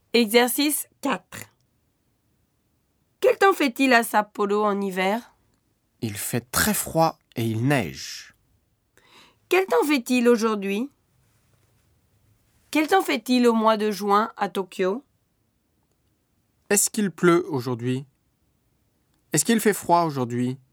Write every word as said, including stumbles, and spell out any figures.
Exercice quatre. Quel temps fait-il à Sapporo en hiver? Il fait très froid et il neige. Quel temps fait-il aujourd'hui? Quel temps fait-il au mois de juin à Tokyo? Est-ce qu'il pleut aujourd'hui? Est-ce qu'il fait froid aujourd'hui?